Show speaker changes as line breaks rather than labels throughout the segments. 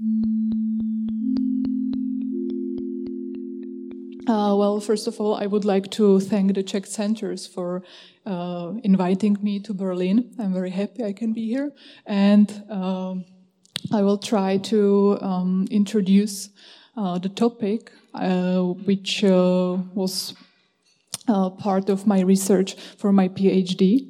Well, first of all, I would like to thank the Czech Centers for inviting me to Berlin. I'm very happy I can be here. And I will try to introduce the topic, which was part of my research for my PhD.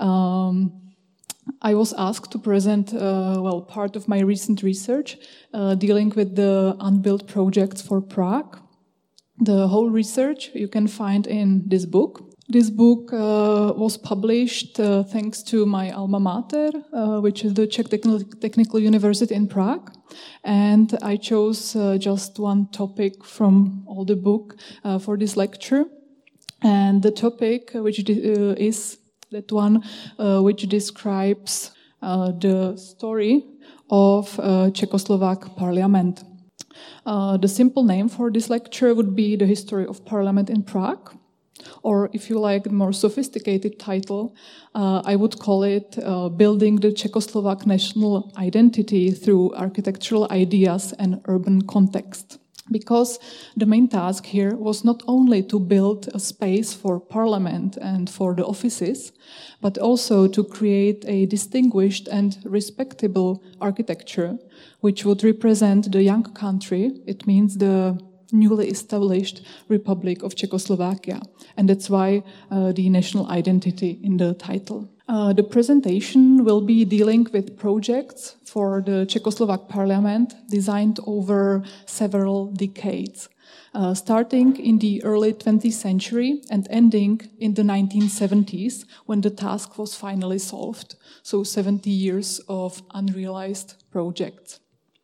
I was asked to present, part of my recent research dealing with the unbuilt projects for Prague. The whole research you can find in this book. This book was published thanks to my alma mater, which is the Czech Technical University in Prague. And I chose just one topic from all the book for this lecture. And the topic, which is that one which describes the story of Czechoslovak parliament. The simple name for this lecture would be The History of Parliament in Prague, or if you like a more sophisticated title, I would call it Building the Czechoslovak National Identity Through Architectural Ideas and Urban Context. Because the main task here was not only to build a space for parliament and for the offices, but also to create a distinguished and respectable architecture, which would represent the young country. It means the newly established Republic of Czechoslovakia. And that's why the national identity in the title. The presentation will be dealing with projects for the Czechoslovak parliament designed over several decades, starting in the early 20th century and ending in the 1970s when the task was finally solved. So 70 years of unrealized projects.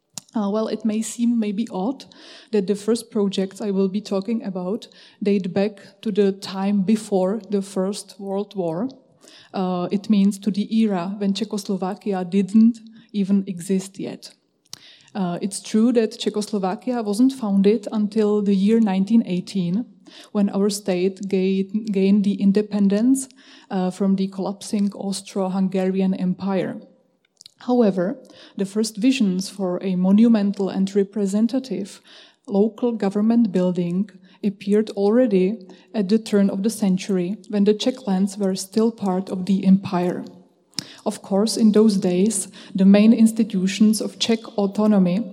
It may seem maybe odd that the first projects I will be talking about date back to the time before the First World War. It means to the era when Czechoslovakia didn't even exist yet. It's true that Czechoslovakia wasn't founded until the year 1918, when our state gained the independence from the collapsing Austro-Hungarian Empire. However, the first visions for a monumental and representative local government building appeared already at the turn of the century, when the Czech lands were still part of the empire. Of course, in those days, the main institutions of Czech autonomy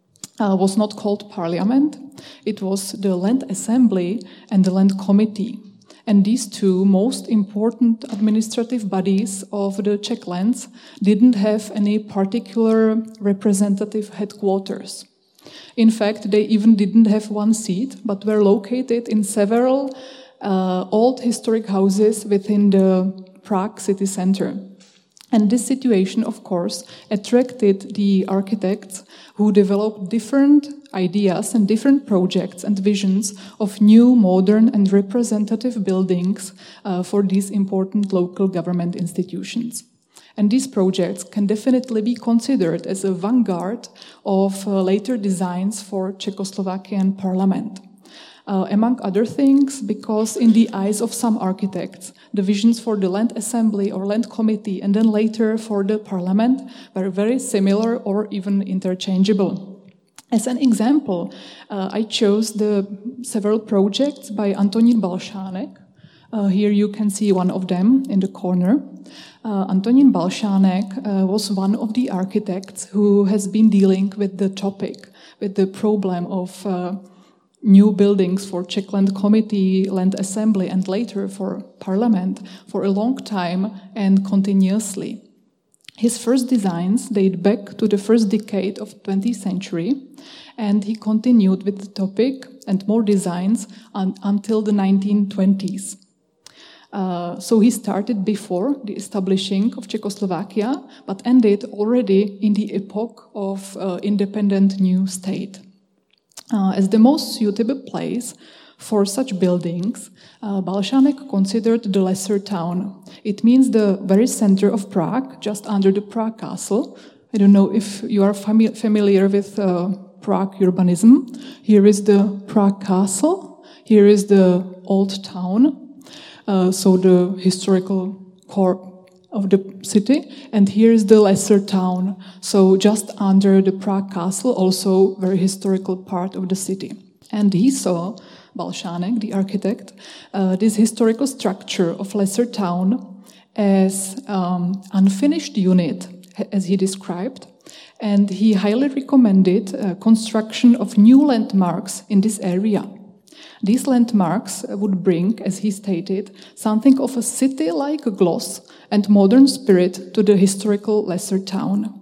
was not called parliament. It was the Land Assembly and the Land Committee. And these two most important administrative bodies of the Czech lands didn't have any particular representative headquarters. In fact, they even didn't have one seat, but were located in several old historic houses within the Prague city center. And this situation, of course, attracted the architects who developed different ideas and different projects and visions of new, modern and representative buildings for these important local government institutions. And these projects can definitely be considered as a vanguard of later designs for Czechoslovakian parliament. Among other things, because in the eyes of some architects, the visions for the Land Assembly or Land Committee and then later for the parliament were very similar or even interchangeable. As an example, I chose the several projects by Antonín Balšánek. Here you can see one of them in the corner. Antonín Balšánek was one of the architects who has been dealing with the topic, with the problem of new buildings for Czech Land Committee, Land Assembly, and later for Parliament for a long time and continuously. His first designs date back to the first decade of 20th century, and he continued with the topic and more designs until the 1920s. So he started before the establishing of Czechoslovakia, but ended already in the epoch of independent new state. As the most suitable place for such buildings, Balšánek considered the lesser town. It means the very center of Prague, just under the Prague Castle. I don't know if you are familiar with Prague urbanism. Here is the Prague Castle. Here is the old town. So the historical core of the city, and here is the lesser town, so just under the Prague Castle, also very historical part of the city. And he saw, Balšánek, the architect, this historical structure of lesser town as unfinished unit, as he described, and he highly recommended construction of new landmarks in this area. These landmarks would bring, as he stated, something of a city-like gloss and modern spirit to the historical lesser town.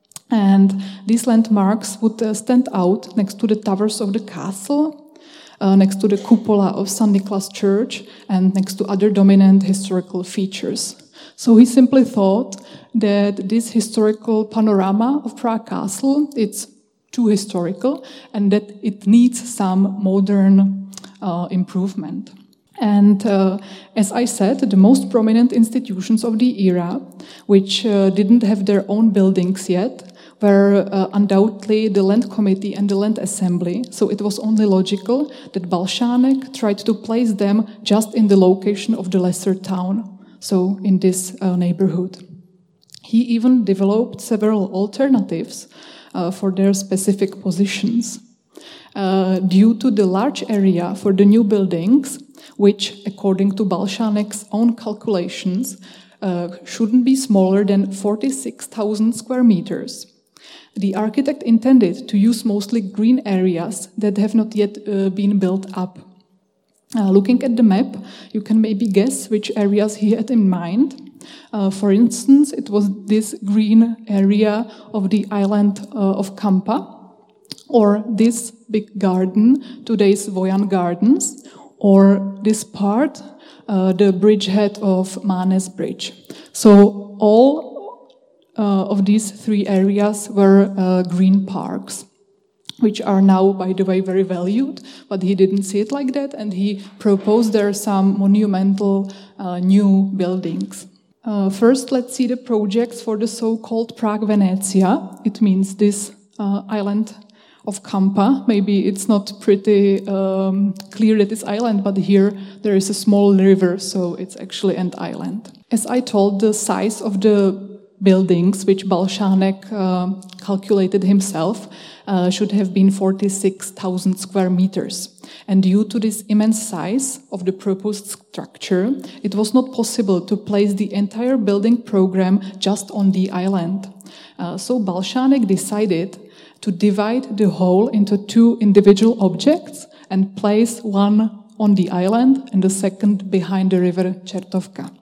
And these landmarks would stand out next to the towers of the castle, next to the cupola of St. Nicholas Church, and next to other dominant historical features. So he simply thought that this historical panorama of Prague Castle, it's too historical, and that it needs some modern improvement. And as I said, the most prominent institutions of the era, which didn't have their own buildings yet, were undoubtedly the Land Committee and the Land Assembly. So it was only logical that Balšánek tried to place them just in the location of the lesser town, so in this neighborhood. He even developed several alternatives for their specific positions. Due to the large area for the new buildings, which, according to Balšánek's own calculations, shouldn't be smaller than 46,000 square meters, the architect intended to use mostly green areas that have not yet been built up. Looking at the map, you can maybe guess which areas he had in mind. For instance, it was this green area of the island of Kampa, or this big garden, today's Vojan Gardens, or this part, the bridgehead of Mánes Bridge. So all of these three areas were green parks, which are now, by the way, very valued, but he didn't see it like that, and he proposed there some monumental new buildings. First, let's see the projects for the so-called Prague Venezia. It means this island of Kampa. Maybe it's not pretty clear that it's island, but here there is a small river, so it's actually an island. As I told, the size of the buildings, which Balšánek calculated himself, should have been 46,000 square meters. And due to this immense size of the proposed structure, it was not possible to place the entire building program just on the island. So Balšánek decided to divide the whole into two individual objects and place one on the island and the second behind the river Čertovka.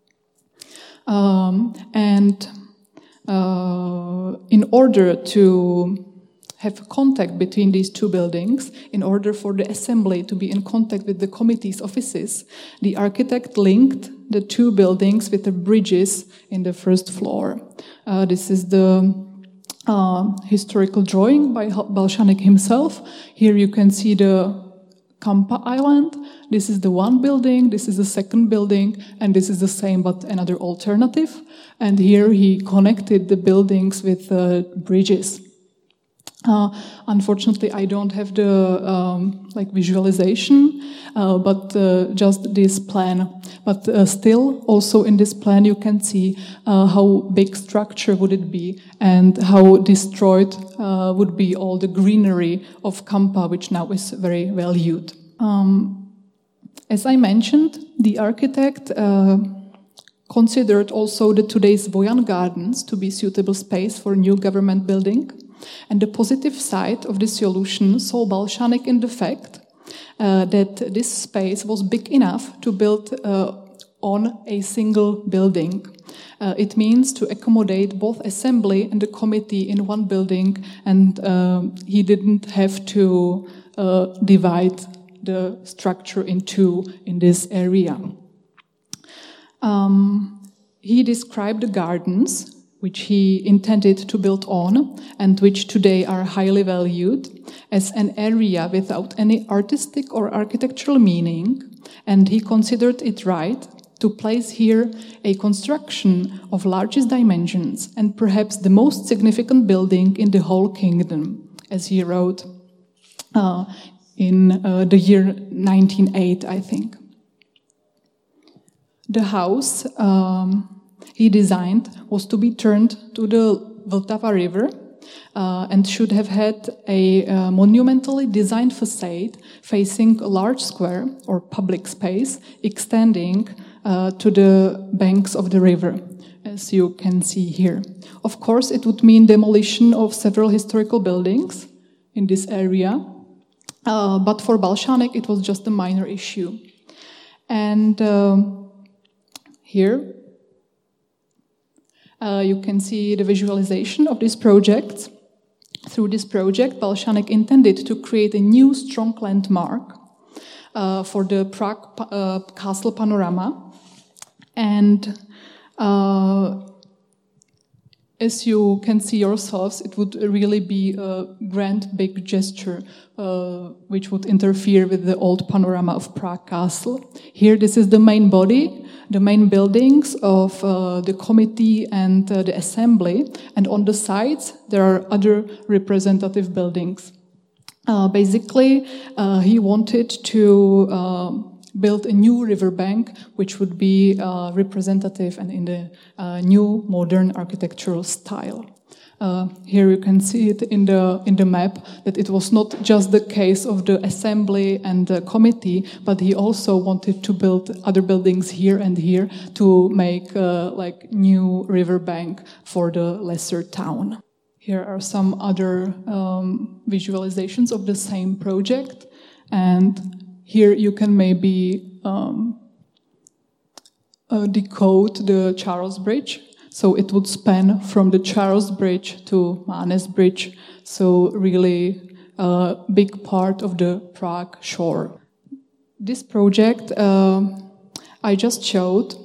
In order to have contact between these two buildings, in order for the assembly to be in contact with the committee's offices, the architect linked the two buildings with the bridges in the first floor. This is the historical drawing by Balšánek himself. Here you can see the Kampa Island. This is the one building, this is the second building, and this is the same but another alternative. And here he connected the buildings with bridges. Unfortunately, I don't have the visualization, but just this plan. But still, also in this plan, you can see how big structure would it be and how destroyed would be all the greenery of Kampa, which now is very valued. As I mentioned, the architect considered also the today's Vojan Gardens to be suitable space for new government building. And the positive side of this solution saw Balšánek in the fact that this space was big enough to build on a single building. It means to accommodate both assembly and the committee in one building, and he didn't have to divide the structure in two in this area. He described the gardens which he intended to build on, and which today are highly valued, as an area without any artistic or architectural meaning, and he considered it right to place here a construction of largest dimensions and perhaps the most significant building in the whole kingdom, as he wrote in the year 1908, I think. The house he designed was to be turned to the Vltava River and should have had a monumentally designed facade facing a large square or public space extending to the banks of the river, as you can see here. Of course, it would mean demolition of several historical buildings in this area, but for Balšánek it was just a minor issue. And here you can see the visualization of this project. Through this project, Balšánek intended to create a new strong landmark for the Prague castle panorama. And as you can see yourselves, it would really be a grand, big gesture which would interfere with the old panorama of Prague Castle. Here, this is the main body, the main buildings of the committee and the assembly, and on the sides there are other representative buildings. Basically, he wanted to build a new riverbank which would be representative and in the new modern architectural style. Here you can see it in the map that it was not just the case of the assembly and the committee, but he also wanted to build other buildings here and here to make like new riverbank for the lesser town. Here are some other visualizations of the same project, and here you can maybe decode the Charles Bridge. So it would span from the Charles Bridge to Mánes Bridge, so really a big part of the Prague shore. This project I just showed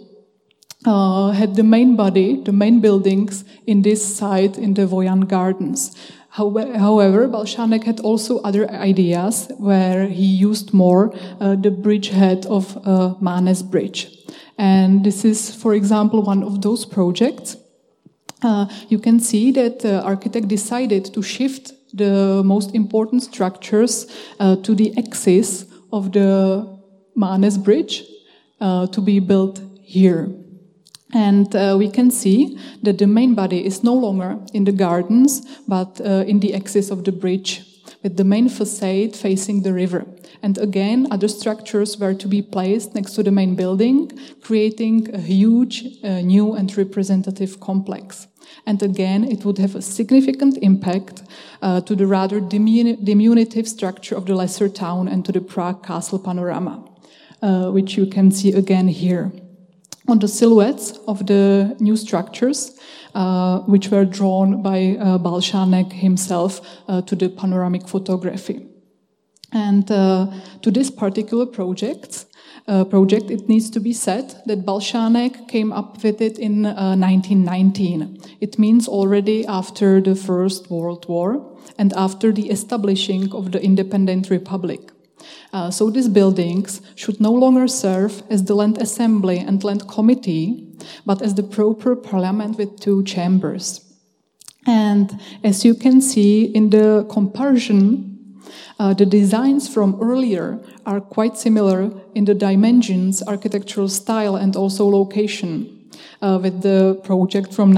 had the main body, the main buildings in this site in the Vojan Gardens. However, Balšánek had also other ideas where he used more the bridgehead of Mánes Bridge. And this is, for example, one of those projects. You can see that the architect decided to shift the most important structures to the axis of the Mánes Bridge to be built here. And we can see that the main body is no longer in the gardens, but in the axis of the bridge, with the main facade facing the river. And again, other structures were to be placed next to the main building, creating a huge, new and representative complex. And again, it would have a significant impact to the rather diminutive structure of the lesser town and to the Prague castle panorama, which you can see again here. On the silhouettes of the new structures, which were drawn by Balšánek himself to the panoramic photography. And to this particular project, it needs to be said that Balšánek came up with it in 1919. It means already after the First World War and after the establishing of the independent republic. So these buildings should no longer serve as the land assembly and land committee, but as the proper parliament with two chambers. And as you can see in the comparison, the designs from earlier are quite similar in the dimensions, architectural style, and also location with the project from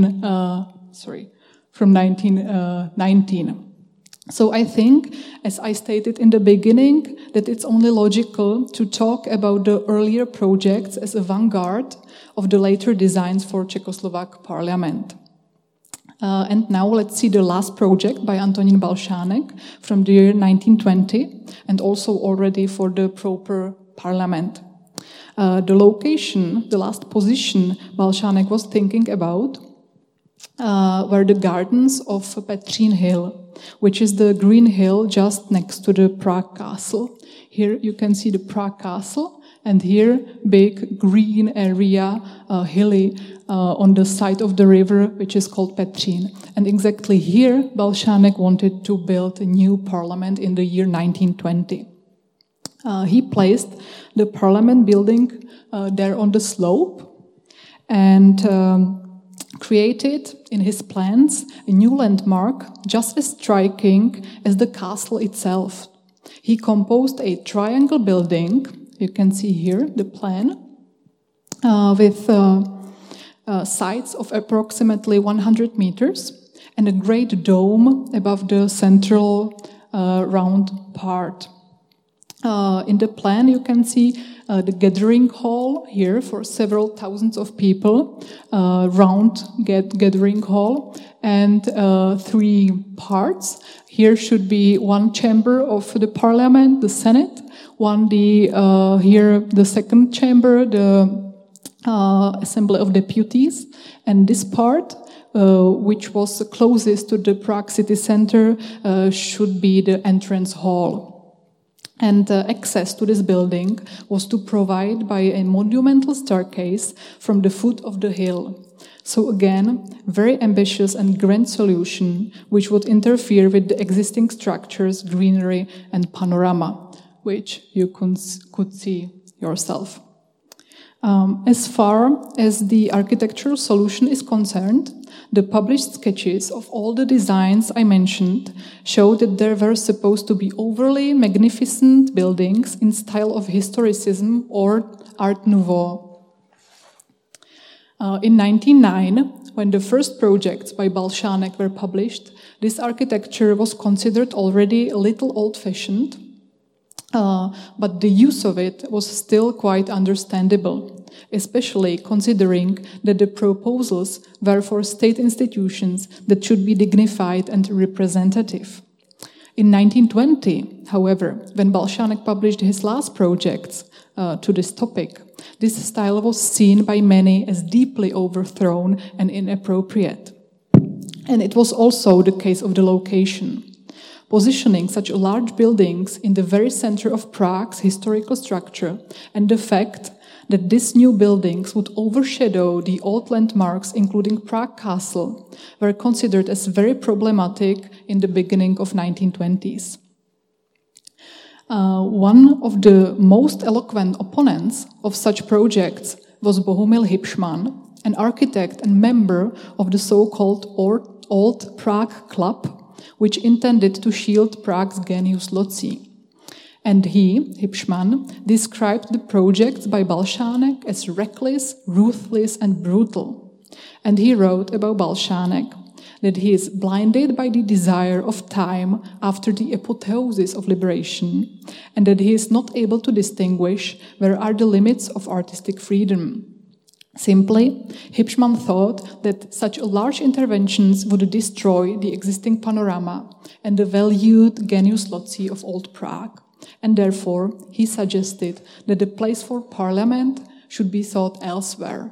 1919. So I think, as I stated in the beginning, that it's only logical to talk about the earlier projects as a vanguard of the later designs for Czechoslovak parliament. And now let's see the last project by Antonín Balšánek from the year 1920, and also already for the proper parliament. The location, the last position Balšánek was thinking about were the gardens of Petřín Hill, which is the green hill just next to the Prague Castle. Here you can see the Prague Castle, and here big green area, hilly, on the side of the river, which is called Petřín. And exactly here, Balšánek wanted to build a new parliament in the year 1920. He placed the parliament building there on the slope and created in his plans a new landmark just as striking as the castle itself. He composed a triangle building, you can see here the plan, with sides of approximately 100 meters, and a great dome above the central round part. In the plan, you can see the gathering hall here for several thousands of people, round gathering hall, and 3 parts. Here should be one chamber of the parliament, the Senate, here the second chamber, the Assembly of Deputies, and this part, which was closest to the Prague city center, should be the entrance hall. And access to this building was to provide by a monumental staircase from the foot of the hill. So again, very ambitious and grand solution, which would interfere with the existing structures, greenery, and panorama, which you could see yourself. As far as the architectural solution is concerned, the published sketches of all the designs I mentioned show that there were supposed to be overly magnificent buildings in style of historicism or Art Nouveau. In 1909, when the first projects by Balšánek were published, this architecture was considered already a little old-fashioned, but the use of it was still quite understandable, especially considering that the proposals were for state institutions that should be dignified and representative. In 1920, however, when Balšánek published his last projects to this topic, this style was seen by many as deeply overthrown and inappropriate. And it was also the case of the location. Positioning such large buildings in the very center of Prague's historical structure, and the fact that these new buildings would overshadow the old landmarks, including Prague Castle, were considered as very problematic in the beginning of 1920s. One of the most eloquent opponents of such projects was Bohumil Hipšman, an architect and member of the so-called Old Prague Club, which intended to shield Prague's genius loci. And he, Hipšman, described the projects by Balšánek as reckless, ruthless, and brutal. And he wrote about Balšánek that he is blinded by the desire of time after the apotheosis of liberation, and that he is not able to distinguish where are the limits of artistic freedom. Simply, Hipšman thought that such large interventions would destroy the existing panorama and the valued genius loci of Old Prague, and therefore he suggested that the place for parliament should be sought elsewhere.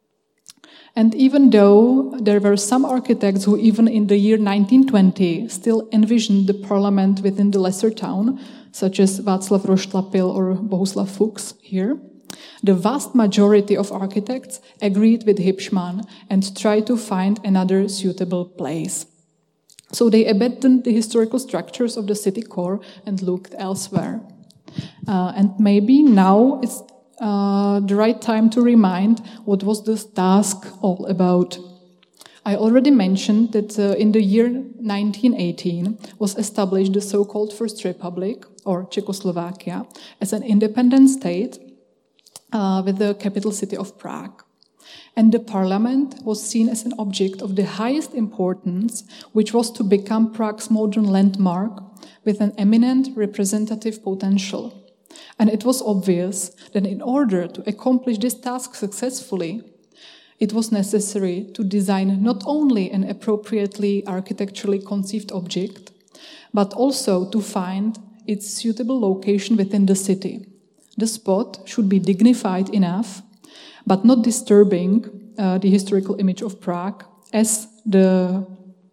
And even though there were some architects who even in the year 1920 still envisioned the parliament within the lesser town, such as Václav Roštlapil or Bohuslav Fuchs here, the vast majority of architects agreed with Hipšman and tried to find another suitable place. So they abandoned the historical structures of the city core and looked elsewhere. And maybe now it's the right time to remind what was this task all about. I already mentioned that in the year 1918 was established the so-called First Republic, or Czechoslovakia, as an independent state with the capital city of Prague. And the parliament was seen as an object of the highest importance, which was to become Prague's modern landmark with an eminent representative potential. And it was obvious that in order to accomplish this task successfully, it was necessary to design not only an appropriately architecturally conceived object, but also to find its suitable location within the city. The spot should be dignified enough, but not disturbing the historical image of Prague as the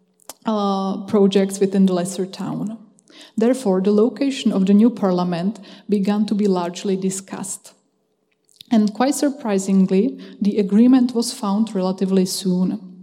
projects within the lesser town. Therefore, the location of the new parliament began to be largely discussed. And quite surprisingly, the agreement was found relatively soon.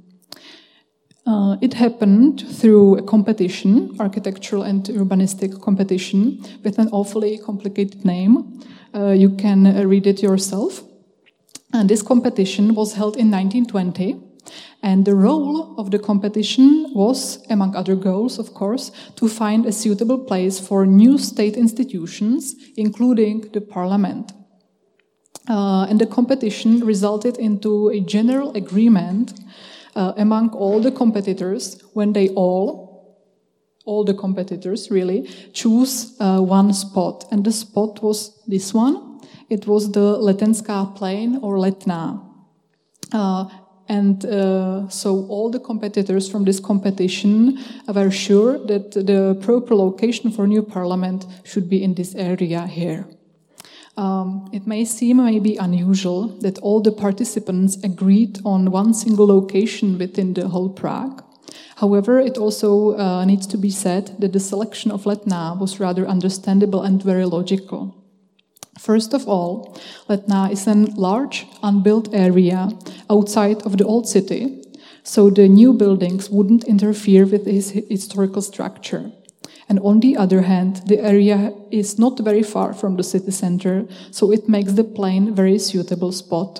It happened through a competition, architectural and urbanistic competition, with an awfully complicated name. You can read it yourself. And this competition was held in 1920. And the role of the competition was, among other goals, of course, to find a suitable place for new state institutions, including the parliament. And the competition resulted into a general agreement among all the competitors when they all the competitors really, choose one spot. And the spot was this one. It was the Letenská plain or Letná. So all the competitors from this competition were sure that the proper location for new parliament should be in this area here. It may seem maybe unusual that all the participants agreed on one single location within the whole Prague. However, it also needs to be said that the selection of Letná was rather understandable and very logical. First of all, Letná is a large, unbuilt area outside of the old city, so the new buildings wouldn't interfere with its historical structure. And on the other hand, the area is not very far from the city center, so it makes the plain a very suitable spot.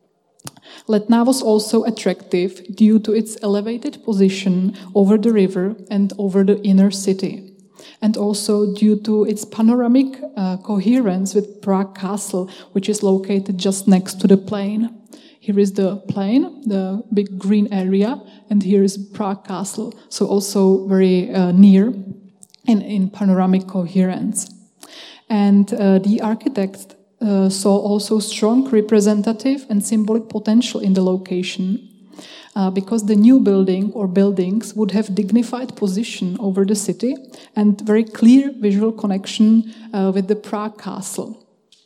Letná was also attractive due to its elevated position over the river and over the inner city, and also due to its panoramic coherence with Prague Castle, which is located just next to the plain. Here is the plain, the big green area, and here is Prague Castle, so also very near in panoramic coherence. And the architect saw also strong representative and symbolic potential in the location because the new building or buildings would have dignified position over the city and very clear visual connection with the Prague Castle.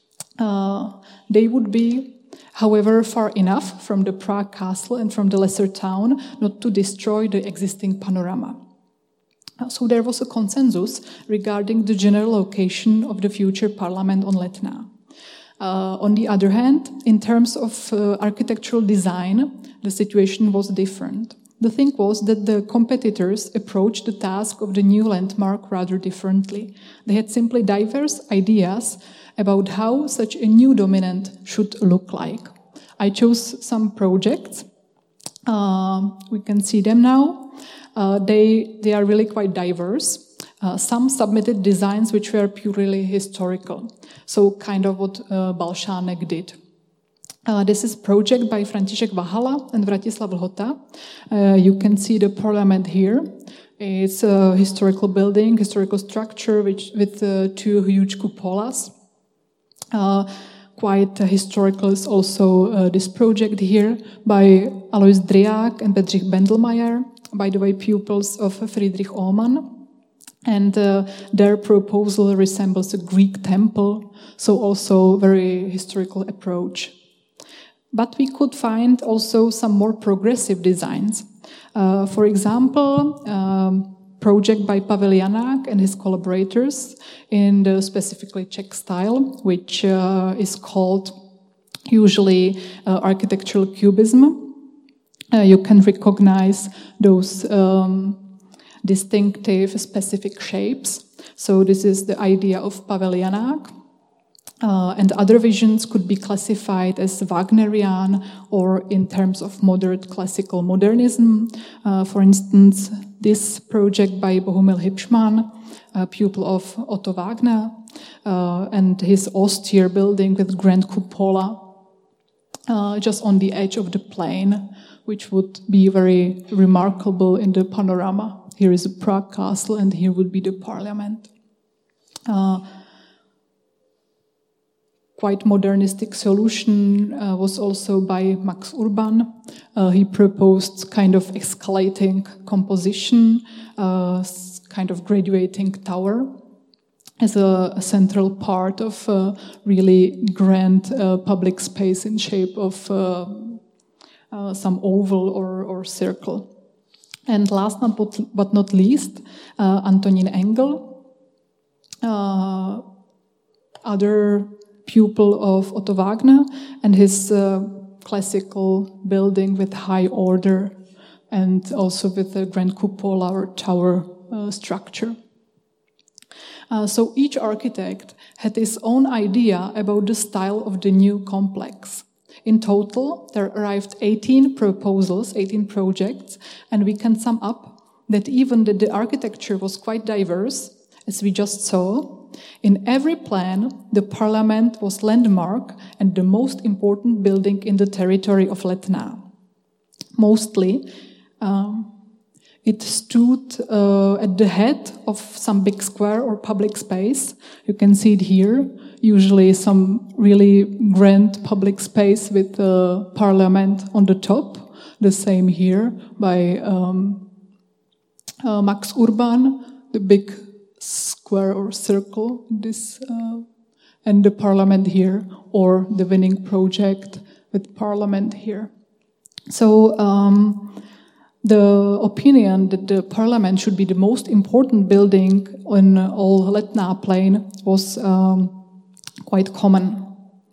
They would be, however, far enough from the Prague Castle and from the lesser town not to destroy the existing panorama. So there was a consensus regarding the general location of the future parliament on Letná. On the other hand, in terms of architectural design, the situation was different. The thing was that the competitors approached the task of the new landmark rather differently. They had simply diverse ideas about how such a new dominant should look like. I chose some projects. We can see them now. They are really quite diverse. Some submitted designs which were purely historical, so kind of what Balšánek did. This is a project by František Vahala and Vratislav Lhota. You can see the parliament here. It's a historical building, historical structure with two huge cupolas. Quite historical is also this project here by Alois Driák and Bedřich Bendelmeyer, by the way, pupils of Friedrich Ohmann. And their proposal resembles a Greek temple, so also very historical approach. But we could find also some more progressive designs. For example, project by Pavel Janák and his collaborators in the specifically Czech style, which is called usually architectural cubism. You can recognize those distinctive specific shapes. So this is the idea of Pavel Janák. And other visions could be classified as Wagnerian or in terms of modern classical modernism. For instance, this project by Bohumil Hipšman, a pupil of Otto Wagner, and his austere building with grand cupola just on the edge of the plain, which would be very remarkable in the panorama. Here is a Prague Castle, and here would be the parliament. Quite modernistic solution was also by Max Urban. He proposed kind of escalating composition, kind of graduating tower as a central part of a really grand public space in shape of some oval or circle. And last but not least, Antonín Engel, other pupil of Otto Wagner, and his classical building with high order and also with a grand cupola or tower structure. So each architect had his own idea about the style of the new complex. In total, there arrived 18 proposals, 18 projects, and we can sum up that even the architecture was quite diverse, as we just saw, In every plan, the parliament was landmark and the most important building in the territory of Letná. Mostly, it stood at the head of some big square or public space. You can see it here, usually some really grand public space with the parliament on the top. The same here by Max Urban, the big square or circle, this, and the parliament here, or the winning project with parliament here. So the opinion that the parliament should be the most important building on all Letná plain was quite common.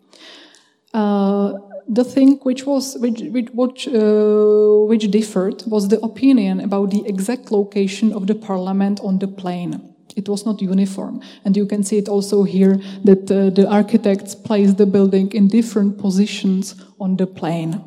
The thing which differed was the opinion about the exact location of the parliament on the plain. It was not uniform, and you can see it also here that the architects placed the building in different positions on the plain.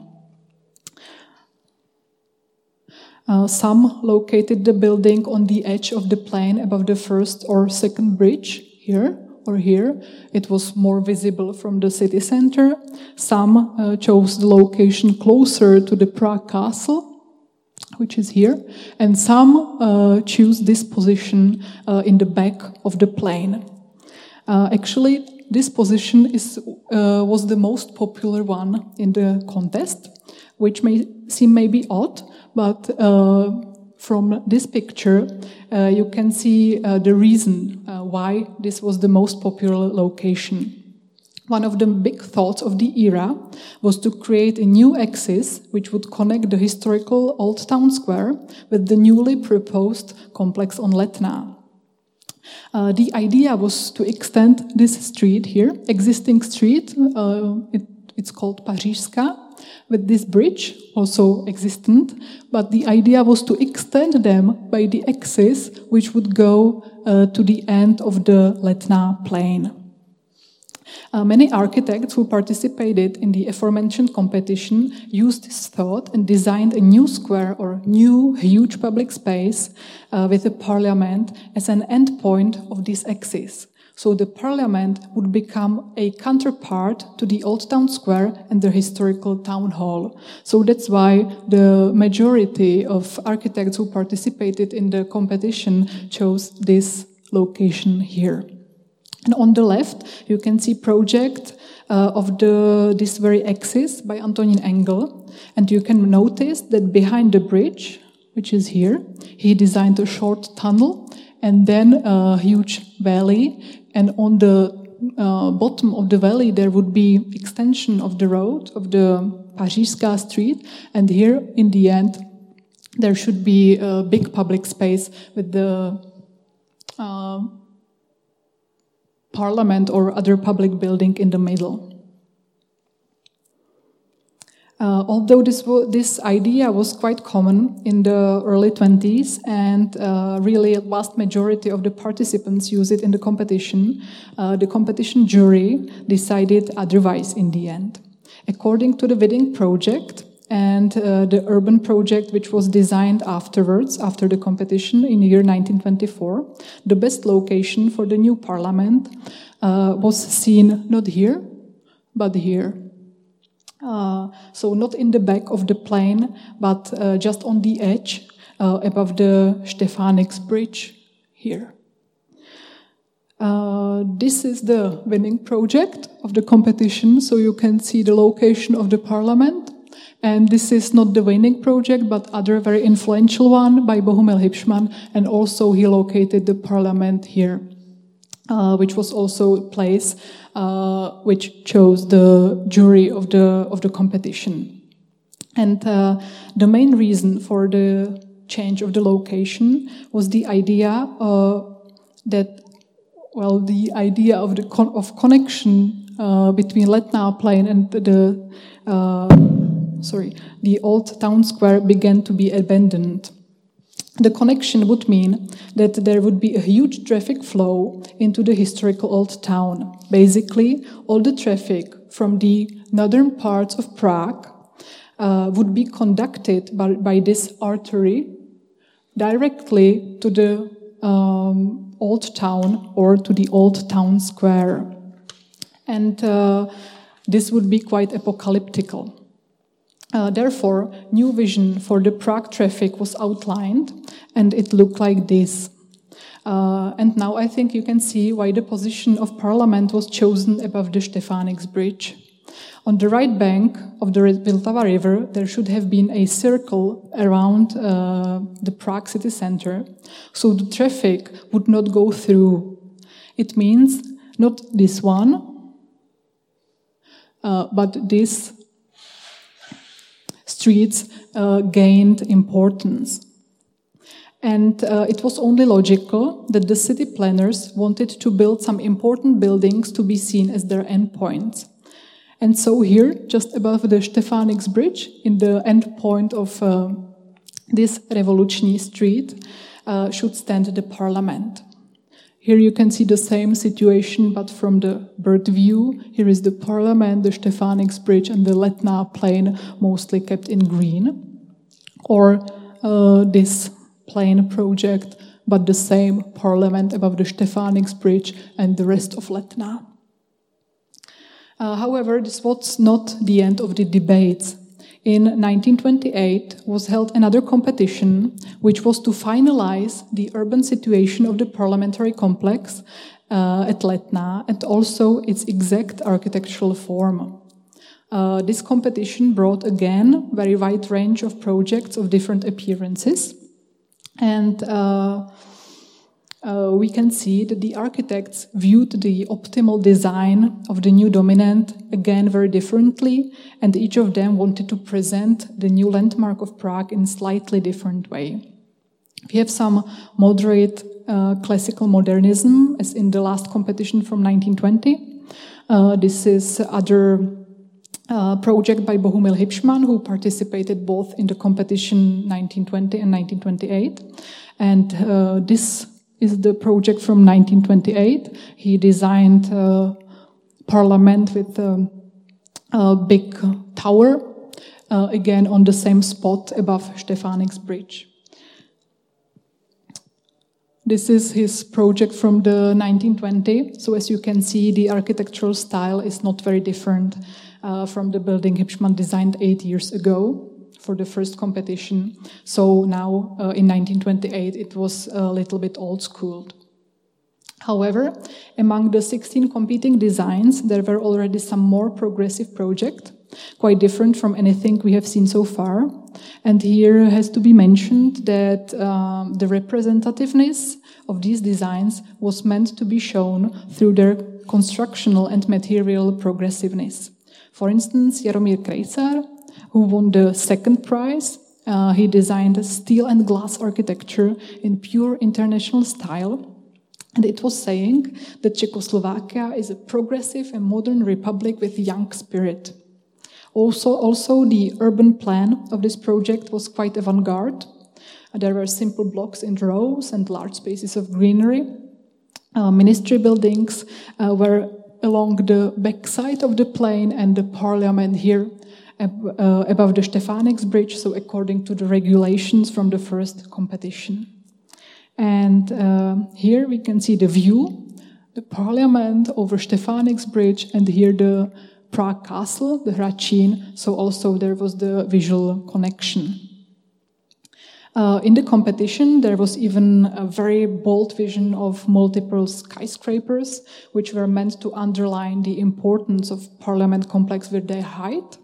Some located the building on the edge of the plain above the first or second bridge, here or here. It was more visible from the city center. Some chose the location closer to the Prague castle, which is here, and some choose this position in the back of the plain. Actually, this position was the most popular one in the contest, which may seem maybe odd, but from this picture, you can see the reason why this was the most popular location. One of the big thoughts of the era was to create a new axis which would connect the historical Old Town Square with the newly proposed complex on Letná. The idea was to extend this street here, existing street, it's called Pařížská, with this bridge, also existent, but the idea was to extend them by the axis which would go to the end of the Letná plain. Many architects who participated in the aforementioned competition used this thought and designed a new square or new huge public space with a parliament as an endpoint of this axis. So the parliament would become a counterpart to the Old Town Square and the historical town hall. So that's why the majority of architects who participated in the competition chose this location here. And on the left, you can see project of this very axis by Antonín Engel. And you can notice that behind the bridge, which is here, he designed a short tunnel and then a huge valley. And on the bottom of the valley, there would be extension of the road, of the Pařížská street. And here, in the end, there should be a big public space with the parliament or other public building in the middle. Although this idea was quite common in the early 20s and really a vast majority of the participants use it in the competition jury decided otherwise in the end. According to the Winning project and the urban project which was designed afterwards, after the competition in the year 1924, the best location for the new parliament was seen not here, but here. So not in the back of the plain, but just on the edge above the Stefanix bridge here. This is the Winning project of the competition, so you can see the location of the parliament. And this is not the Winning project, but other very influential one by Bohumil Hipšman, and also he located the parliament here, which was also a place which chose the jury of the competition. And the main reason for the change of the location was the idea the idea of connection between Letná plain and the Old Town Square began to be abandoned. The connection would mean that there would be a huge traffic flow into the historical old town. Basically, all the traffic from the northern parts of Prague would be conducted by this artery directly to the Old Town or to the Old Town Square. And this would be quite apocalyptical. Therefore, new vision for the Prague traffic was outlined, and it looked like this. And now I think you can see why the position of Parliament was chosen above the Stefanix Bridge. On the right bank of the Vltava River, there should have been a circle around the Prague city center, so the traffic would not go through. It means not this one, but these streets gained importance. And it was only logical that the city planners wanted to build some important buildings to be seen as their endpoints. And so here, just above the Stefanix Bridge, in the end point of this Revoluční street, should stand the parliament. Here you can see the same situation, but from the bird view. Here is the parliament, the Stefanix Bridge, and the Letná plain, mostly kept in green. Or this plain project, but the same parliament above the Stefanix Bridge and the rest of Letná. However, this was not the end of the debates. In 1928 was held another competition, which was to finalize the urban situation of the parliamentary complex at Letná and also its exact architectural form. This competition brought again a very wide range of projects of different appearances. And we can see that the architects viewed the optimal design of the new dominant again very differently, and each of them wanted to present the new landmark of Prague in a slightly different way. We have some moderate classical modernism, as in the last competition from 1920. This is other project by Bohumil Hipšman, who participated both in the competition 1920 and 1928. And this is the project from 1928. He designed a parliament with a big tower, again on the same spot above Stefanix Bridge. This is his project from the 1920. So as you can see, the architectural style is not very different from the building Hipšman designed 8 years ago for the first competition. So now in 1928 it was a little bit old-schooled. However, among the 16 competing designs, there were already some more progressive projects, quite different from anything we have seen so far. And here has to be mentioned that the representativeness of these designs was meant to be shown through their constructional and material progressiveness. For instance, Jaromír Krejcar, who won the second prize, he designed a steel and glass architecture in pure international style. And it was saying that Czechoslovakia is a progressive and modern republic with young spirit. Also, the urban plan of this project was quite avant-garde. There were simple blocks in rows and large spaces of greenery. Ministry buildings were along the backside of the plain, and the parliament here above the Stefanix Bridge, so according to the regulations from the first competition. And here we can see the view, the parliament over Stefanix Bridge, and here the Prague Castle, the Hradčín, so also there was the visual connection. In the competition, there was even a very bold vision of multiple skyscrapers, which were meant to underline the importance of Parliament complex with their height.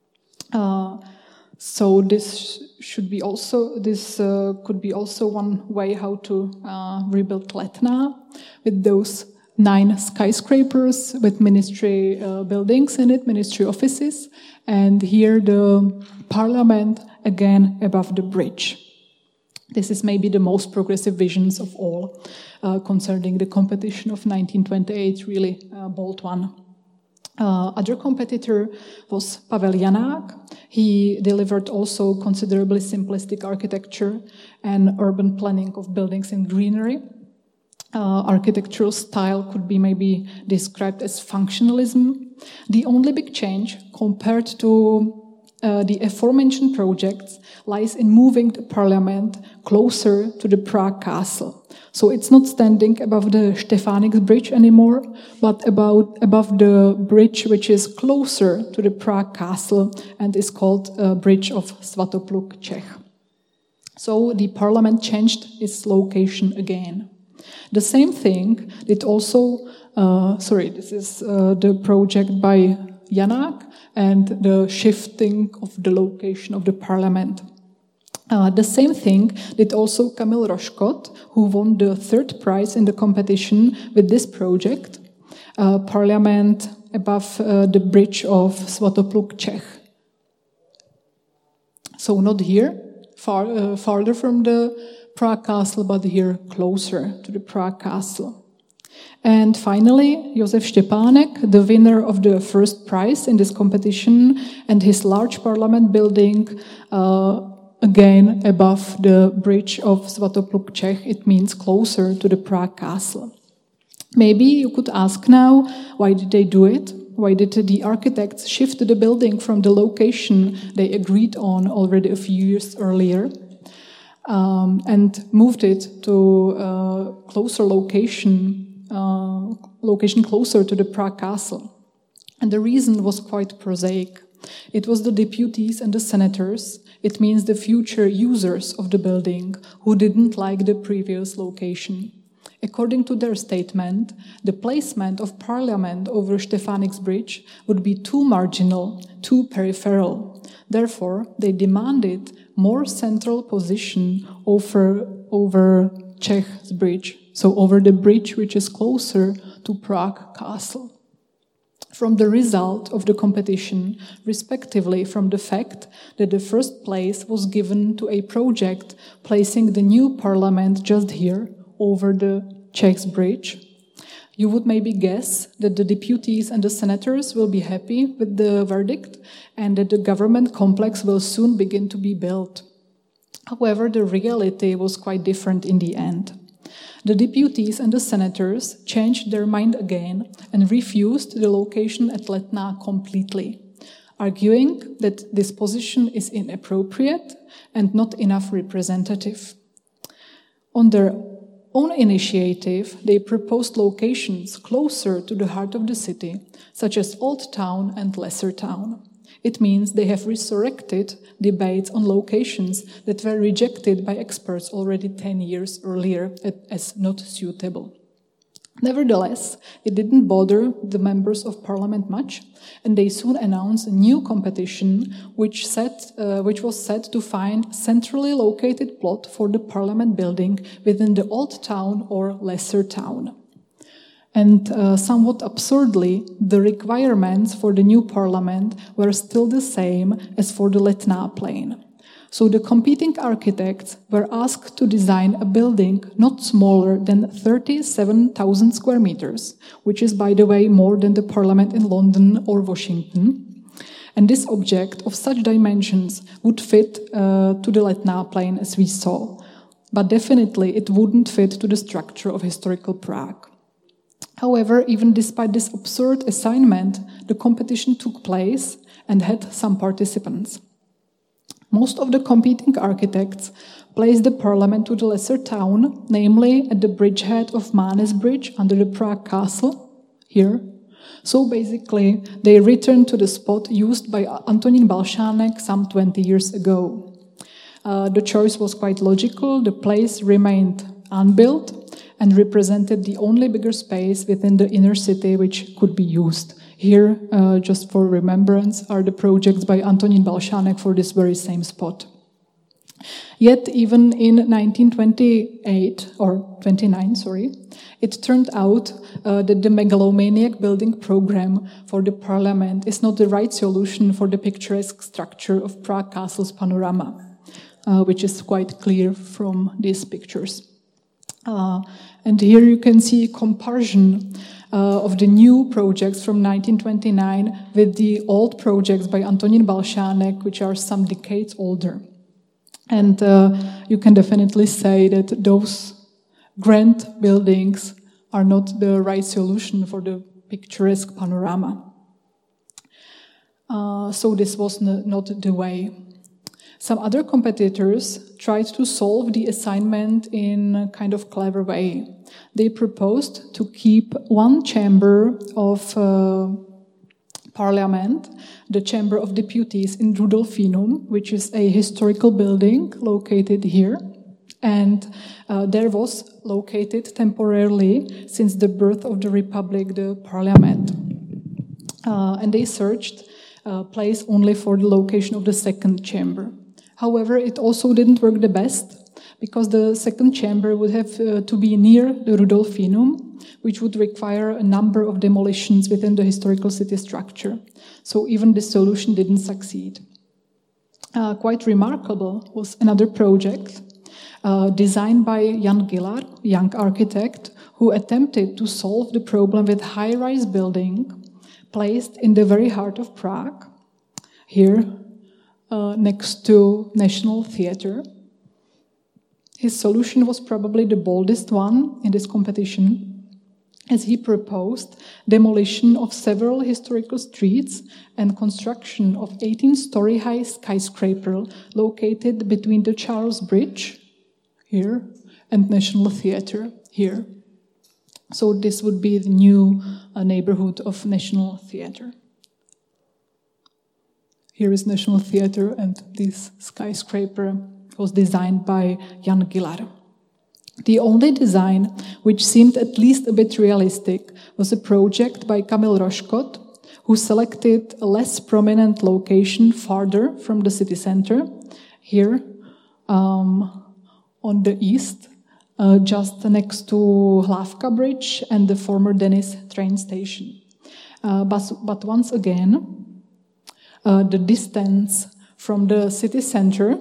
So this could be also one way how to rebuild Letná, with those 9 skyscrapers with ministry buildings in it, ministry offices, and here the parliament again above the bridge. This is maybe the most progressive visions of all concerning the competition of 1928, really bold one. Other competitor was Pavel Janák. He delivered also considerably simplistic architecture and urban planning of buildings and greenery. Architectural style could be maybe described as functionalism. The only big change compared to the aforementioned projects lies in moving the parliament closer to the Prague castle. So it's not standing above the Stefanix Bridge anymore, but above the bridge which is closer to the Prague castle and is called Bridge of Svatopluk Čech. So the parliament changed its location again. The same thing did also, this is the project by Janák and the shifting of the location of the parliament. The same thing did also Kamil Roškot, who won the third prize in the competition with this project, parliament above the bridge of Svatopluk Čech. So not here, farther from the Prague castle, but here closer to the Prague castle. And finally, Josef Štěpánek, the winner of the first prize in this competition, and his large parliament building, again above the bridge of Svatopluk Čech, it means closer to the Prague castle. Maybe you could ask now, why did they do it? Why did the architects shift the building from the location they agreed on already a few years earlier and moved it to a closer location closer to the Prague castle? And the reason was quite prosaic. It was the deputies and the senators, it means the future users of the building, who didn't like the previous location. According to their statement, the placement of parliament over Stefanix Bridge would be too marginal, too peripheral. Therefore, they demanded more central position over Czech's bridge, so over the bridge which is closer to Prague castle. From the result of the competition, respectively from the fact that the first place was given to a project placing the new parliament just here, over the Czech's bridge, you would maybe guess that the deputies and the senators will be happy with the verdict and that the government complex will soon begin to be built. However, the reality was quite different in the end. The deputies and the senators changed their mind again and refused the location at Letná completely, arguing that this position is inappropriate and not enough representative. On their own initiative, they proposed locations closer to the heart of the city, such as Old Town and Lesser Town. It means they have resurrected debates on locations that were rejected by experts already 10 years earlier as not suitable. Nevertheless, it didn't bother the members of parliament much, and they soon announced a new competition which was set to find centrally located plot for the parliament building within the Old Town or Lesser Town. And somewhat absurdly, the requirements for the new parliament were still the same as for the Letná plain. So the competing architects were asked to design a building not smaller than 37,000 square meters, which is, by the way, more than the parliament in London or Washington. And this object of such dimensions would fit to the Letná plain as we saw. But definitely it wouldn't fit to the structure of historical Prague. However, even despite this absurd assignment, the competition took place and had some participants. Most of the competing architects placed the parliament to the Lesser Town, namely at the bridgehead of Mánes Bridge under the Prague castle, here. So basically, they returned to the spot used by Antonín Balšánek some 20 years ago. The choice was quite logical. The place remained unbuilt and represented the only bigger space within the inner city which could be used. Here, just for remembrance, are the projects by Antonín Balšánek for this very same spot. Yet, even in 1928, or 29, it turned out that the megalomaniac building program for the parliament is not the right solution for the picturesque structure of Prague Castle's panorama, which is quite clear from these pictures. And here you can see a comparison of the new projects from 1929 with the old projects by Antonín Balšánek, which are some decades older. And you can definitely say that those grand buildings are not the right solution for the picturesque panorama. So this was not the way. Some other competitors tried to solve the assignment in a kind of clever way. They proposed to keep one chamber of parliament, the Chamber of Deputies in Rudolfinum, which is a historical building located here. And there was located temporarily, since the birth of the Republic, the parliament. And they searched a place only for the location of the second chamber. However, it also didn't work the best, because the second chamber would have to be near the Rudolfinum, which would require a number of demolitions within the historical city structure. So even this solution didn't succeed. Quite remarkable was another project designed by Jan Giller, young architect, who attempted to solve the problem with high-rise building placed in the very heart of Prague, here next to National Theatre. His solution was probably the boldest one in this competition, as he proposed demolition of several historical streets and construction of 18-story high skyscraper located between the Charles Bridge, here, and National Theatre, here. So this would be the new neighborhood of National Theatre. Here is National Theatre, and this skyscraper was designed by Jan Giller. The only design which seemed at least a bit realistic was a project by Kamil Roškot, who selected a less prominent location farther from the city center, here on the east, just next to Hlavka Bridge and the former Denis train station. But once again, the distance from the city center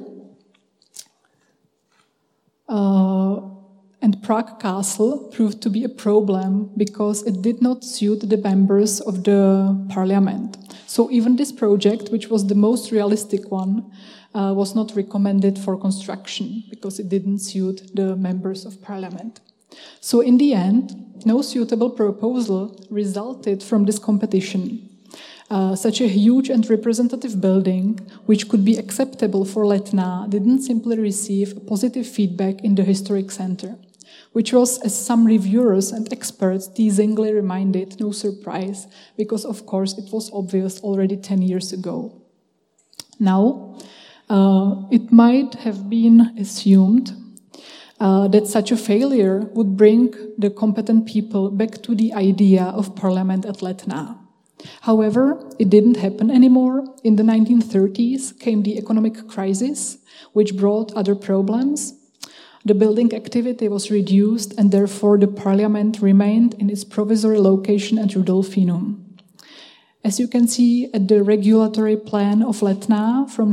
and Prague Castle proved to be a problem because it did not suit the members of the parliament. So even this project, which was the most realistic one, was not recommended for construction because it didn't suit the members of parliament. So in the end, no suitable proposal resulted from this competition. Such a huge and representative building, which could be acceptable for Letná, didn't simply receive positive feedback in the historic center, which was, as some reviewers and experts teasingly reminded, no surprise, because of course it was obvious already 10 years ago. Now, it might have been assumed that such a failure would bring the competent people back to the idea of parliament at Letná. However, it didn't happen anymore. In the 1930s came the economic crisis, which brought other problems. The building activity was reduced, and therefore the parliament remained in its provisory location at Rudolfinum. As you can see at the regulatory plan of Letná from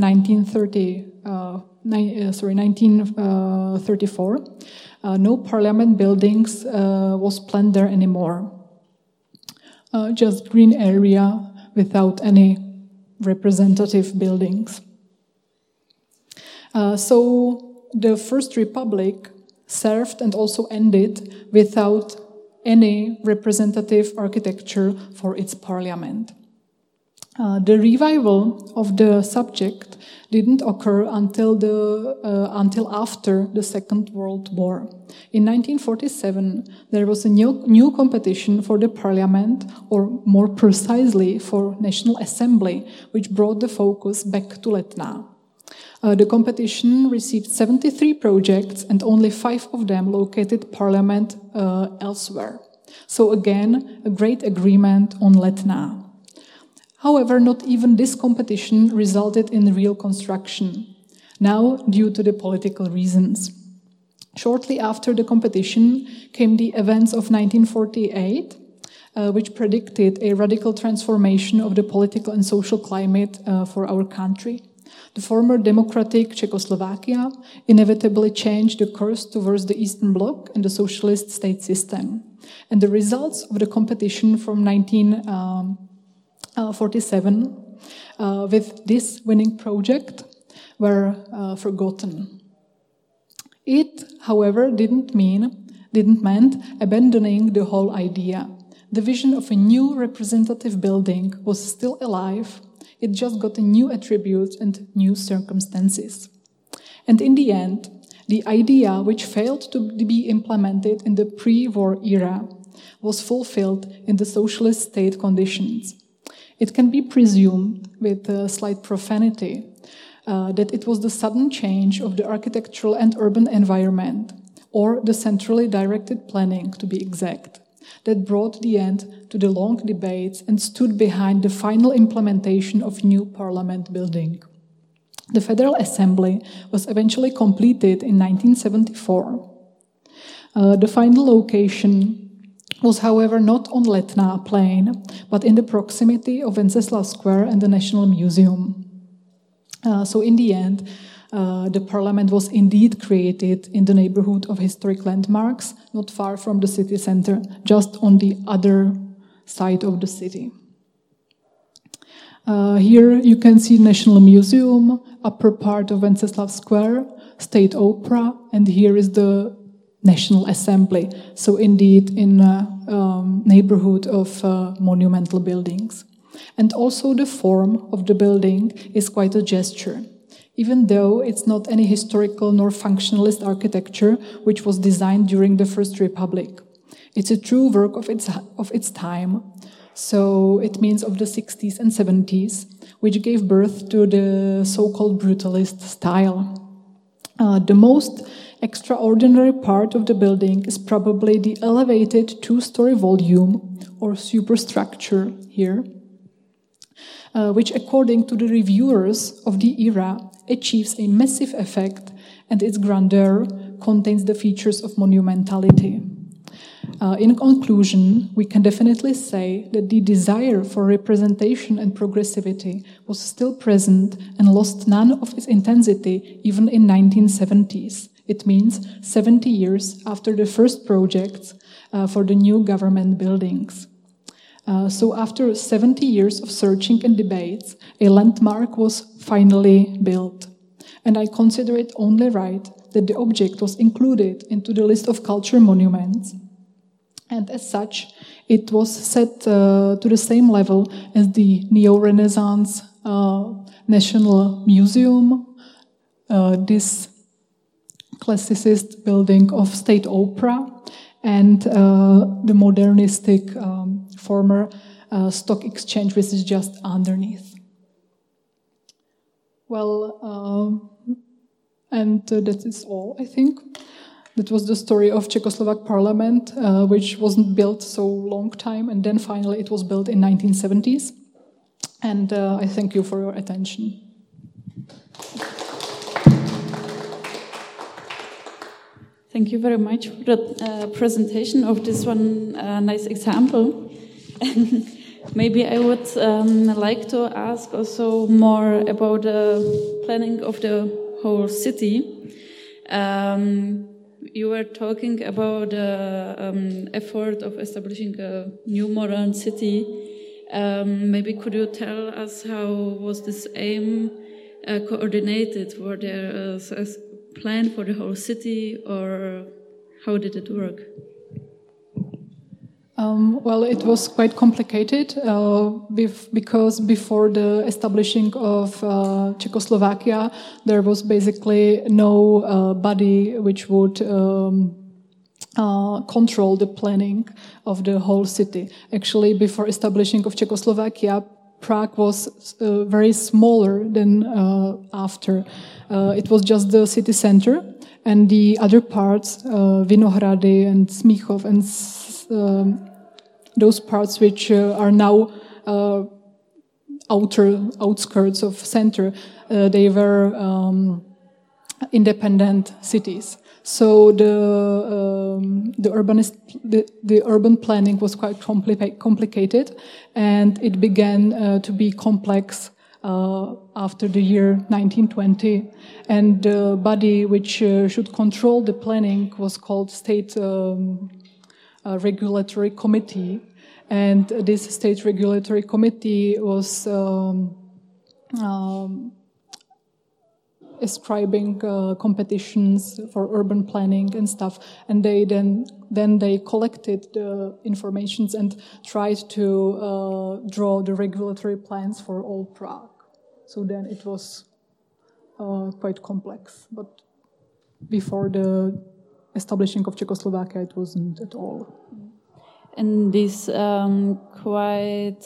1934, no parliament buildings was planned there anymore. Just green area without any representative buildings. So the First Republic served and also ended without any representative architecture for its parliament. The revival of the subject didn't occur until after the Second World War. In 1947, there was a new competition for the parliament, or more precisely for National Assembly, which brought the focus back to Letná. The competition received 73 projects, and only 5 of them located parliament elsewhere. So again, a great agreement on Letná. However, not even this competition resulted in real construction, now due to the political reasons. Shortly after the competition came the events of 1948, which predicted a radical transformation of the political and social climate for our country. The former democratic Czechoslovakia inevitably changed the course towards the Eastern Bloc and the socialist state system. And the results of the competition from 1947 with this winning project were forgotten. It, however, didn't mean abandoning the whole idea. The vision of a new representative building was still alive. It just got a new attributes and new circumstances. And in the end, the idea which failed to be implemented in the pre-war era was fulfilled in the socialist state conditions. It can be presumed, with a slight profanity, that it was the sudden change of the architectural and urban environment, or the centrally directed planning, to be exact, that brought the end to the long debates and stood behind the final implementation of new parliament building. The Federal Assembly was eventually completed in 1974. The final location was, however, not on Letná Plain, but in the proximity of Wenceslav Square and the National Museum. So in the end, the parliament was indeed created in the neighborhood of historic landmarks, not far from the city center, just on the other side of the city. Here you can see National Museum, upper part of Wenceslav Square, State Opera, and here is the National Assembly. So indeed in a neighborhood of monumental buildings. And also the form of the building is quite a gesture. Even though it's not any historical nor functionalist architecture which was designed during the First Republic. It's a true work of its time. So it means of the 60s and 70s, which gave birth to the so-called brutalist style. The most extraordinary part of the building is probably the elevated two-story volume or superstructure here, which according to the reviewers of the era achieves a massive effect, and its grandeur contains the features of monumentality. In conclusion, we can definitely say that the desire for representation and progressivity was still present and lost none of its intensity even in 1970s. It means 70 years after the first projects for the new government buildings. So after 70 years of searching and debates, a landmark was finally built. And I consider it only right that the object was included into the list of culture monuments. And as such, it was set to the same level as the Neo-Renaissance National Museum, this classicist building of State Opera, and the modernistic former stock exchange, which is just underneath. Well, and that is all, I think. That was the story of Czechoslovak parliament, which wasn't built so long time, and then finally it was built in 1970s. And I thank you for your attention.
Thank you very much for the presentation of this one nice example. Maybe I would like to ask also more about the planning of the whole city. You were talking about the effort of establishing a new modern city. Maybe could you tell us how was this aim coordinated? Were there a plan for the whole city, or how did it work?
Well, it was quite complicated because before the establishing of Czechoslovakia, there was basically no body which would control the planning of the whole city. Actually, before establishing of Czechoslovakia, Prague was very smaller than after. It was just the city center, and the other parts, Vinohrady and Smíchov and those parts which are now outskirts of center, they were independent cities. So the urban planning was quite complicated, and it began to be complex after the year 1920. And the body which should control the planning was called State Regulatory Committee, and this State Regulatory Committee was ascribing competitions for urban planning and stuff, and they then they collected the informations and tried to draw the regulatory plans for all Prague. So then it was quite complex. But before the establishing of Czechoslovakia, it wasn't at all.
And these quite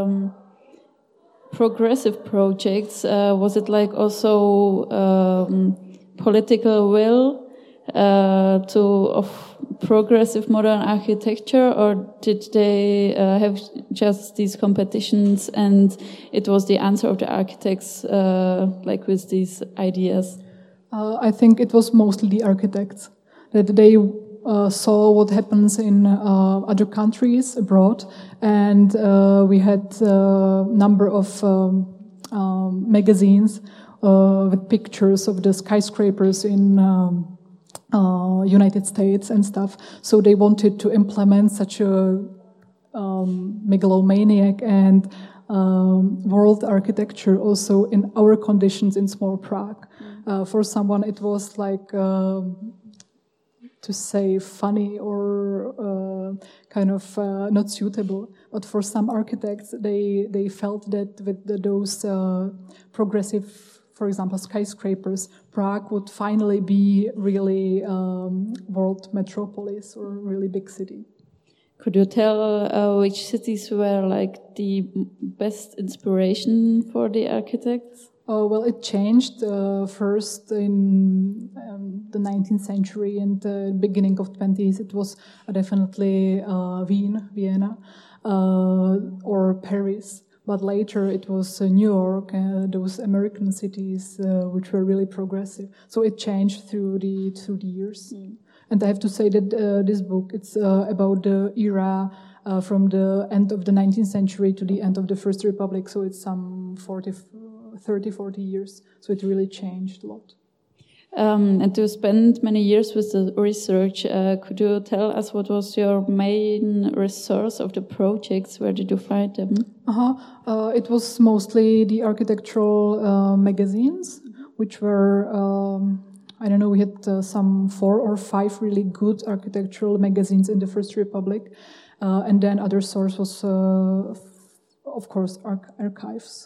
progressive projects, was it like also political will of progressive modern architecture, or did they have just these competitions and it was the answer of the architects like with these ideas?
I think it was mostly the architects, that they saw what happens in other countries abroad, and we had a number of magazines with pictures of the skyscrapers in United States and stuff. So they wanted to implement such a megalomaniac and world architecture also in our conditions in small Prague. For someone, it was like to say funny or kind of not suitable. But for some architects, they felt that with those progressive, for example, skyscrapers, Prague would finally be really world metropolis or really big city.
Could you tell which cities were like the best inspiration for the architects?
Well, it changed first in the 19th century and the beginning of 20s. It was definitely Vienna, or Paris. But later it was New York, those American cities which were really progressive. So it changed through the years. And I have to say that this book, it's about the era from the end of the 19th century to the end of the First Republic. So it's some 30-40 years. So it really changed a lot.
And you spent many years with the research. Could you tell us what was your main resource of the projects? Where did you find them?
It was mostly the architectural magazines, which were, I don't know, we had some 4 or 5 really good architectural magazines in the First Republic. And then other source was, of course, archives.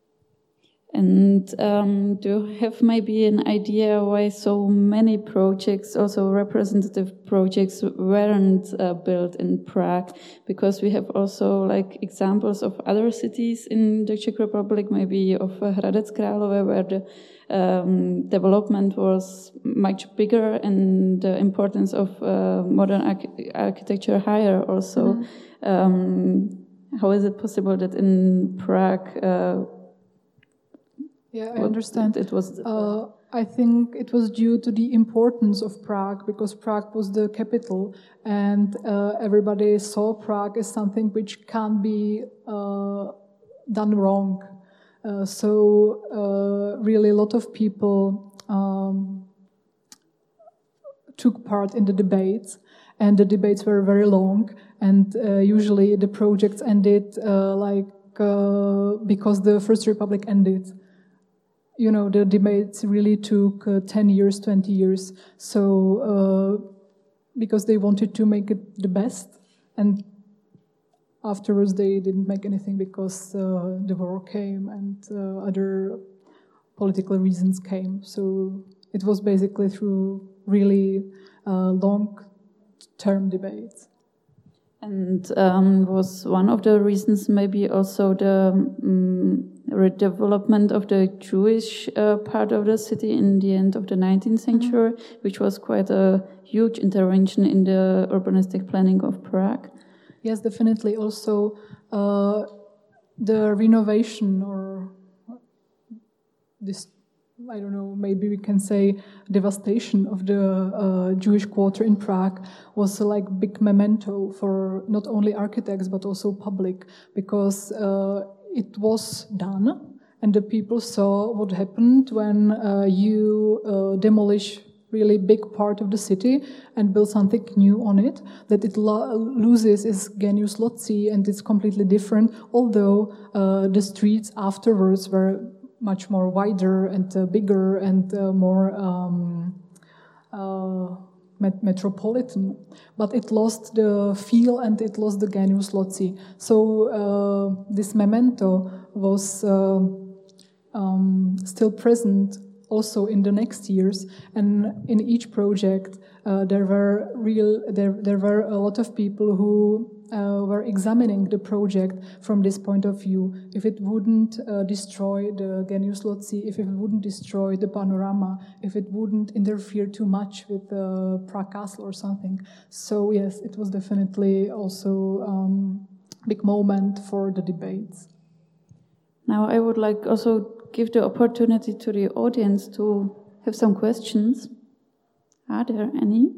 And do you have maybe an idea why so many projects, also representative projects, weren't built in Prague? Because we have also like examples of other cities in the Czech Republic, maybe of Hradec Králové, where the development was much bigger and the importance of modern architecture higher also. How is it possible that in Prague
Yeah, I understand.
It was.
I think it was due to the importance of Prague, because Prague was the capital, and everybody saw Prague as something which can't be done wrong. So really, a lot of people took part in the debates, and the debates were very long. And usually, the projects ended because the First Republic ended. You know, the debates really took 10 years, 20 years. So, because they wanted to make it the best. And afterwards, they didn't make anything because the war came and other political reasons came. So, it was basically through really long-term debates.
And was one of the reasons maybe also the redevelopment of the Jewish part of the city in the end of the 19th century, which was quite a huge intervention in the urbanistic planning of Prague?
Yes, definitely. Also, the renovation or this, I don't know, maybe we can say devastation of the Jewish quarter in Prague was like big memento for not only architects but also public, because it was done and the people saw what happened when you demolish really big part of the city and build something new on it, that it loses its genius loci and it's completely different, although the streets afterwards were much more wider and bigger and more metropolitan, but it lost the feel and it lost the genius loci. So this memento was still present also in the next years, and in each project there were a lot of people who were examining the project from this point of view. If it wouldn't destroy the Genius Loci, if it wouldn't destroy the panorama, if it wouldn't interfere too much with the Prague Castle or something. So yes, it was definitely also big moment for the debates.
Now I would like also give the opportunity to the audience to have some questions. Are there any?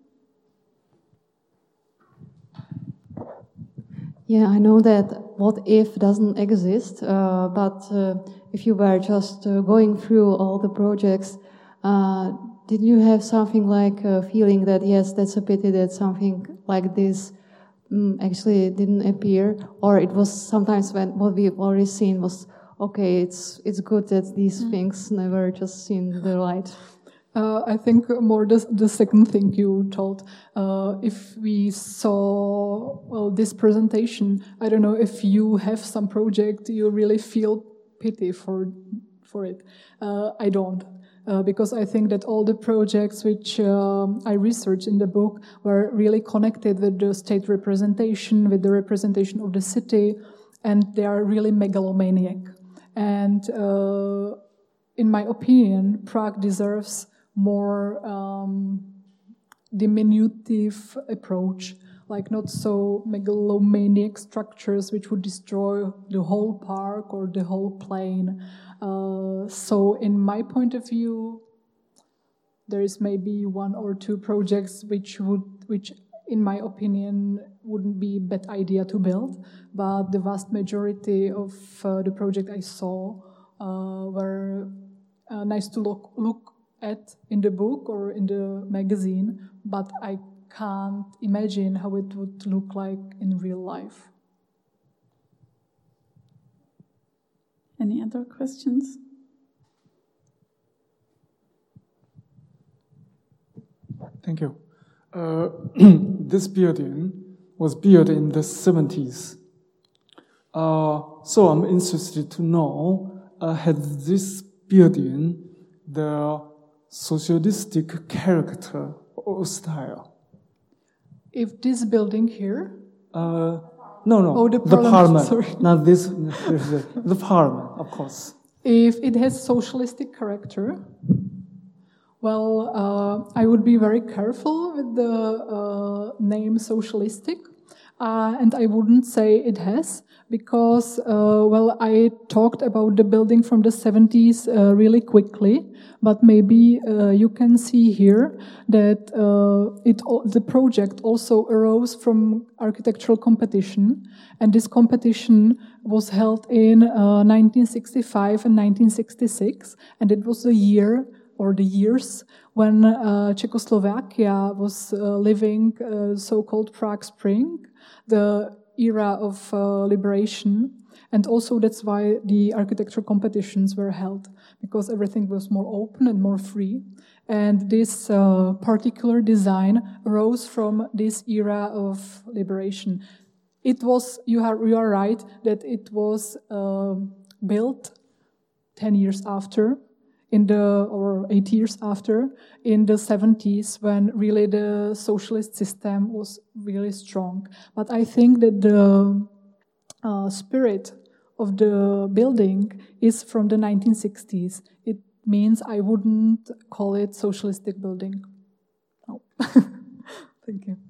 Yeah, I know that what if doesn't exist, but if you were just going through all the projects, did you have something like a feeling that, yes, that's a pity that something like this actually didn't appear? Or it was sometimes when what we've already seen was, okay, it's good that these things never just seen the light?
I think more the second thing you told. If we saw this presentation, I don't know if you have some project you really feel pity for it. I don't. Because I think that all the projects which I researched in the book were really connected with the state representation, with the representation of the city, and they are really megalomaniac. And in my opinion, Prague deserves more diminutive approach, like not so megalomaniac structures which would destroy the whole park or the whole plain. So in my point of view, there is maybe one or two projects which in my opinion wouldn't be a bad idea to build, but the vast majority of the project I saw were nice to look at in the book or in the magazine, but I can't imagine how it would look like in real life.
Any other questions?
Thank you. This building was built in the 70s. So I'm interested to know, has this building the socialistic character or style?
If this building here?
No.
Oh, the
Parliament.
Sorry.
Not this, the Parliament, of course.
If it has socialistic character, well, I would be very careful with the name socialistic, and I wouldn't say it has, because, I talked about the building from the 70s really quickly, but maybe you can see here that the project also arose from architectural competition, and this competition was held in 1965 and 1966, and it was the year or the years when Czechoslovakia was living so-called Prague Spring, the era of liberation, and also that's why the architecture competitions were held, because everything was more open and more free. And this particular design arose from this era of liberation. It was, you are right, that it was built 10 years after, or 8 years after, in the 70s, when really the socialist system was really strong. But I think that the spirit of the building is from the 1960s. It means I wouldn't call it socialistic building. No. Thank you.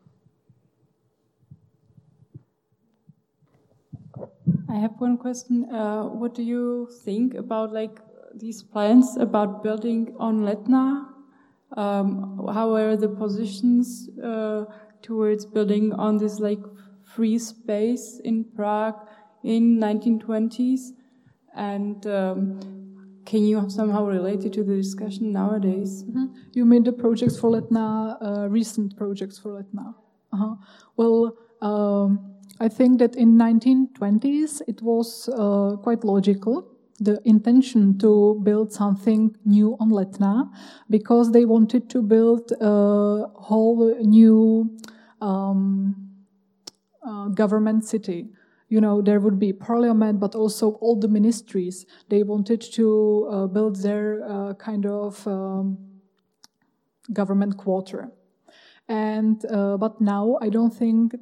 I have one question. What do you think about these plans about building on Letná? How were the positions towards building on this free space in Prague in 1920s? And can you somehow relate it to the discussion nowadays?
Mm-hmm. You mean the projects for Letná, recent projects for Letná? Uh-huh. Well, I think that in 1920s it was quite logical, the intention to build something new on Letná, because they wanted to build a whole new government city. there would be parliament, but also all the ministries. They wanted to build their kind of government quarter. And but now I don't think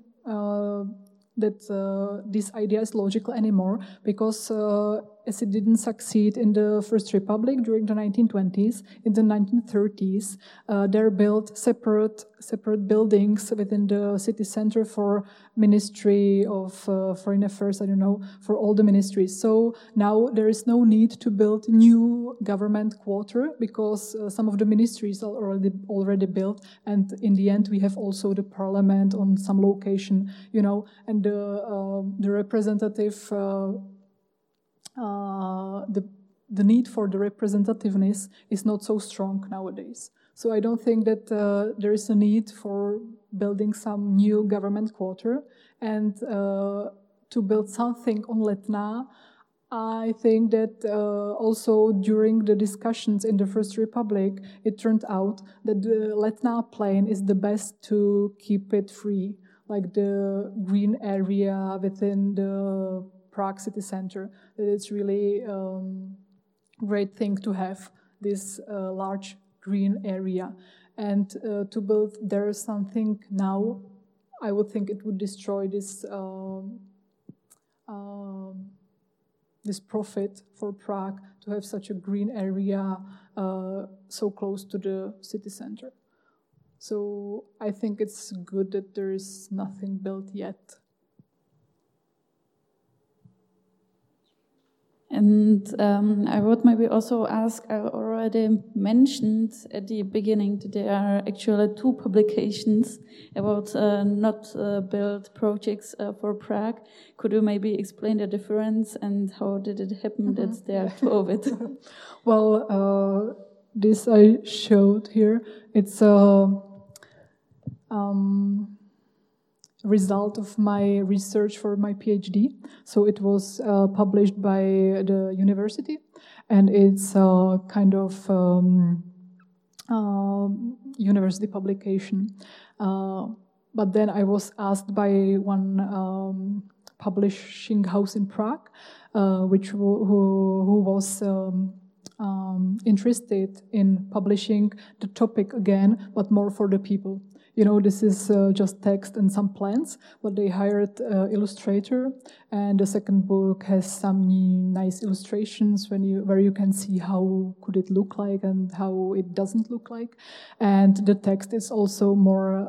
that this idea is logical anymore, because as it didn't succeed in the First Republic during the 1920s, in the 1930s, there built separate buildings within the city center for Ministry of Foreign Affairs, for all the ministries. So now there is no need to build new government quarter, because some of the ministries are already built, and in the end we have also the parliament on some location, and the representative. The need for the representativeness is not so strong nowadays. So I don't think that there is a need for building some new government quarter. And to build something on Letná, I think that also during the discussions in the First Republic, it turned out that the Letná plain is the best to keep it free, like the green area within the Prague city center. That it's really great thing to have this large green area, and to build there something now, I would think it would destroy this this profit for Prague to have such a green area so close to the city center. So I think it's good that there is nothing built yet.
And I would maybe also ask, I already mentioned at the beginning that there are actually 2 publications about not built projects for Prague. Could you maybe explain the difference and how did it happen that there are 2 of it?
Well, this I showed here. It's result of my research for my PhD. So it was published by the university, and it's a kind of university publication. But then I was asked by one publishing house in Prague, who was interested in publishing the topic again, but more for the people. This is just text and some plans, but they hired an illustrator, and the second book has some nice illustrations where you can see how could it look like and how it doesn't look like, and the text is also more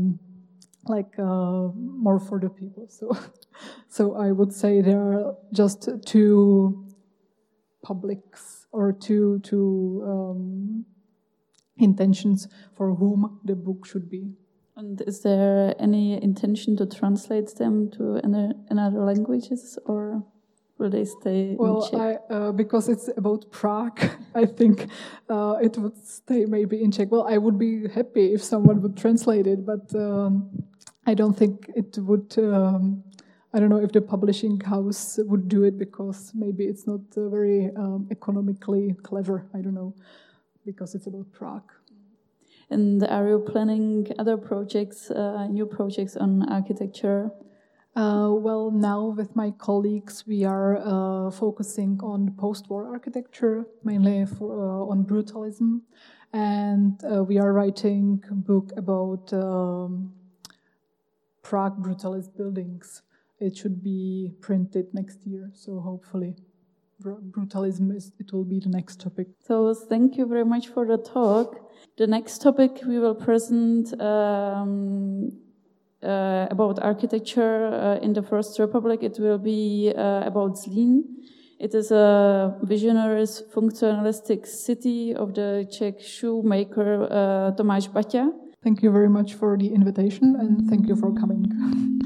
more for the people. So I would say there are just 2 publics or two intentions for whom the book should be.
And is there any intention to translate them to another languages, or will they stay in Czech?
Because it's about Prague, I think it would stay maybe in Czech. Well, I would be happy if someone would translate it, but I don't think it would... I don't know if the publishing house would do it, because maybe it's not very economically clever. I don't know. Because it's about Prague.
And are you planning other projects, new projects on architecture?
Well, now with my colleagues, we are focusing on post-war architecture, mainly on brutalism. And we are writing a book about Prague brutalist buildings. It should be printed next year, so hopefully. Brutalism it will be the next topic.
So thank you very much for the talk. The next topic we will present about architecture in the First Republic. It will be about Zlín. It is a visionary functionalistic city of the Czech shoemaker Tomáš Baťa.
Thank you very much for the invitation, and thank you for coming.